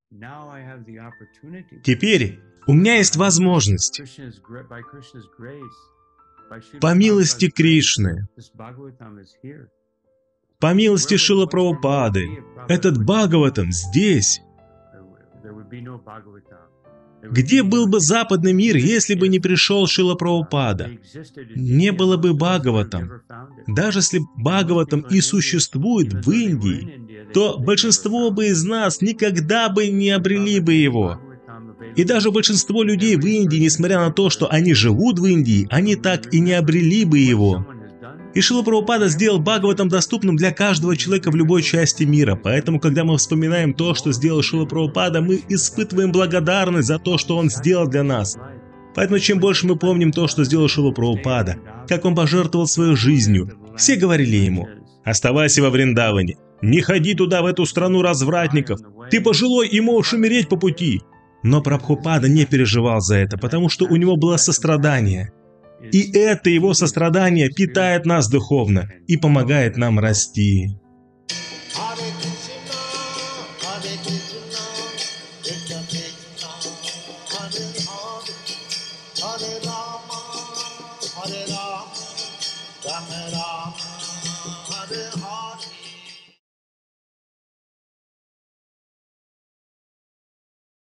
Теперь у меня есть возможность, по милости Кришны, по милости Шрилы Прабхупады, этот Бхагаватам здесь. Где был бы западный мир, если бы не пришел Шрила Прабхупада? Не было бы Бхагаватам. Даже если Бхагаватам и существует в Индии, то большинство бы из нас никогда бы не обрели бы его. И даже большинство людей в Индии, несмотря на то, что они живут в Индии, они так и не обрели бы его. И Шрила Прабхупада сделал Бхагаватам доступным для каждого человека в любой части мира. Поэтому, когда мы вспоминаем то, что сделал Шрила Прабхупада, мы испытываем благодарность за то, что он сделал для нас. Поэтому, чем больше мы помним то, что сделал Шрила Прабхупада, как он пожертвовал своей жизнью, все говорили ему: «Оставайся во Вриндаване, не ходи туда, в эту страну развратников, ты пожилой и можешь умереть по пути». Но Прабхупада не переживал за это, потому что у него было сострадание. И это его сострадание питает нас духовно и помогает нам расти. Hare Rama, Rama Rama, Hare Hare.